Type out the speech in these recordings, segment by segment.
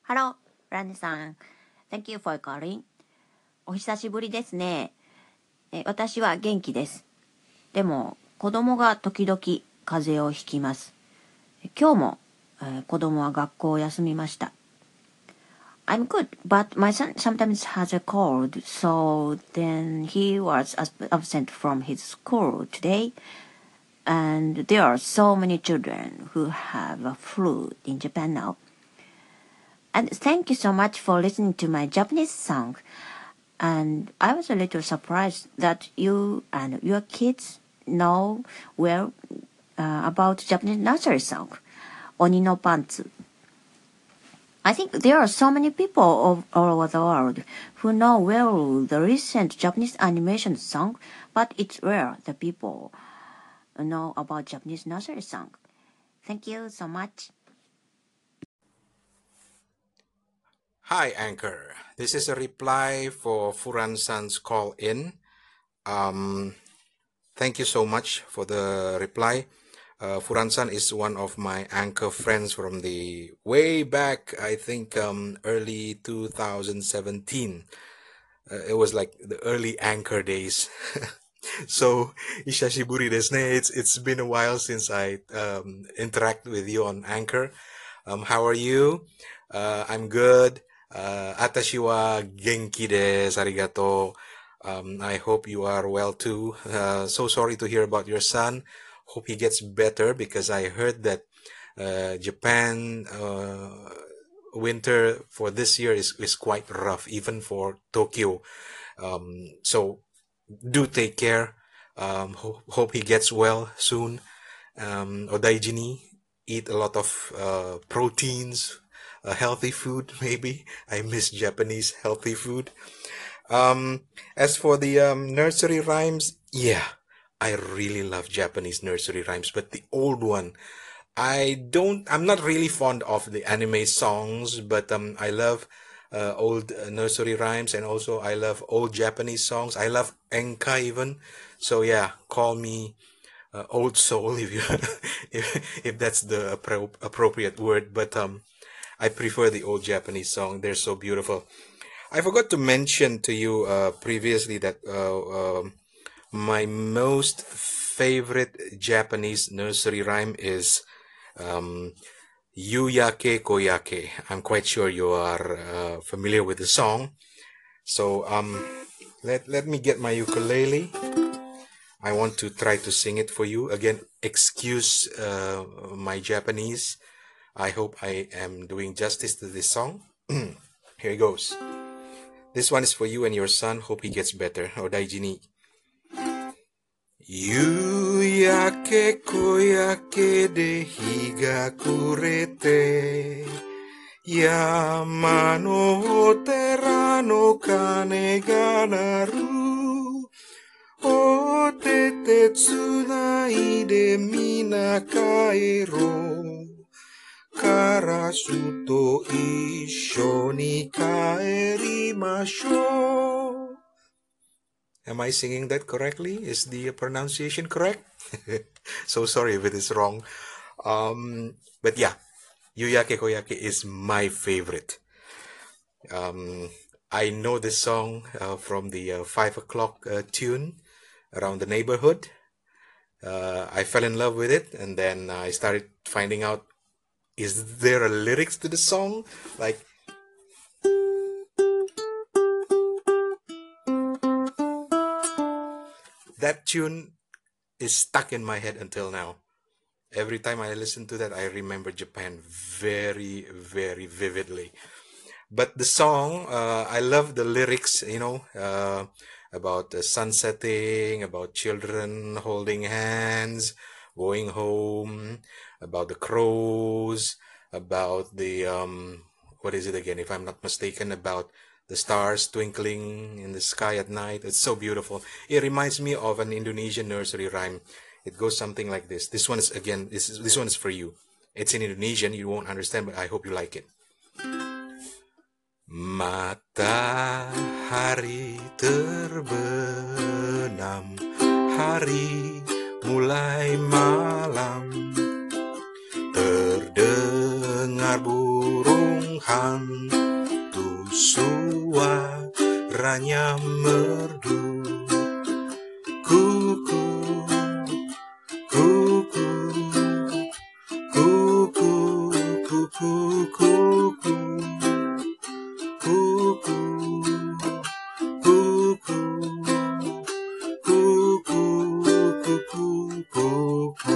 Hello, ランネさん。Thank you for calling. お久しぶりですね。私は元気です。でも、子供が時々風邪をひきます。今日も、子供は学校を休みました。I'm good, but my son sometimes has a cold, so then he was absent from his school today. And there are so many children who have a flu in Japan now. And thank you so much for listening to my Japanese song. And I was a little surprised that you and your kids know well about Japanese nursery song, Oni no Pantsu. I think there are so many people all over the world who know well the recent Japanese animation song, but it's rare the people know about Japanese nursery song. Thank you so much. Hi, Anchor. This is a reply for Furan-san's call in. Thank you so much for the reply. Furan-san is one of my Anchor friends from the way back, I think early 2017. It was like the early Anchor days. So, Ishashiburi desu ne. It's been a while since I interact with you on Anchor. How are you? I'm good. Atashi wa genki desu. Arigato. I hope you are well too. So sorry to hear about your son. Hope he gets better because I heard that Japan winter for this year is quite rough, even for Tokyo. So do take care. Hope he gets well soon. Odaiji ni, eat a lot of proteins, healthy food maybe. I miss Japanese healthy food. As for the nursery rhymes, yeah, I really love Japanese nursery rhymes, but the old one, I'm not really fond of the anime songs, but I love old nursery rhymes, and also I love old Japanese songs. I love enka even. So yeah, call me old soul if you if that's the appropriate word, but I prefer the old Japanese song. They're so beautiful. I forgot to mention to you previously that my most favorite Japanese nursery rhyme is Yuyake Koyake. I'm quite sure you are familiar with the song. So let me get my ukulele. I want to try to sing it for you. Again, excuse my Japanese. I hope I am doing justice to this song. Here it goes. This one is for you and your son. Hope he gets better. Odaiji ni. 夕焼け小焼けで日が暮れて山のお寺の鐘が鳴るお手手つないで皆帰ろうカラスと一緒に帰りましょう Am I singing that correctly? Is the pronunciation correct? So sorry if it is wrong. But yeah, Yuyake Koyake is my favorite. I know this song from the 5 o'clock tune around the neighborhood. I fell in love with it, and then I started finding out, is there a lyrics to the song? Like, that tune is stuck in my head until now. Every time I listen to that, I remember Japan very, very vividly. But the song, I love the lyrics, about the sun setting, about children holding hands, going home, about the crows, about the, what is it again, if I'm not mistaken, about the stars twinkling in the sky at night. It's so beautiful. It reminds me of an Indonesian nursery rhyme. It goes something like this. This one is, again, this one is for you. It's in Indonesian. You won't understand, but I hope you like it. Matahari terbenam, hari mulai malam, terdengar dengar burung hantu suaranya merdu. Kuku, kuku, kuku, kuku, kuku, kuku, kuku, kuku, kuku, kuku.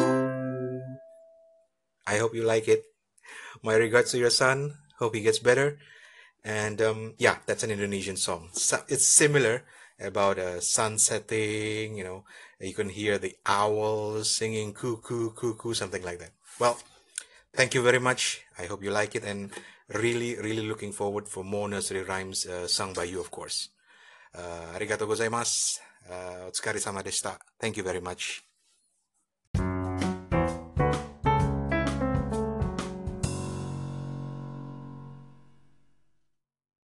I hope you like it. My regards to your son. Hope he gets better. And yeah, that's an Indonesian song. So it's similar about sun setting. You can hear the owls singing cuckoo, cuckoo, something like that. Well, thank you very much. I hope you like it, and really, really looking forward for more nursery rhymes sung by you, of course. Arigatou gozaimasu. Otsukare sama deshita. Thank you very much.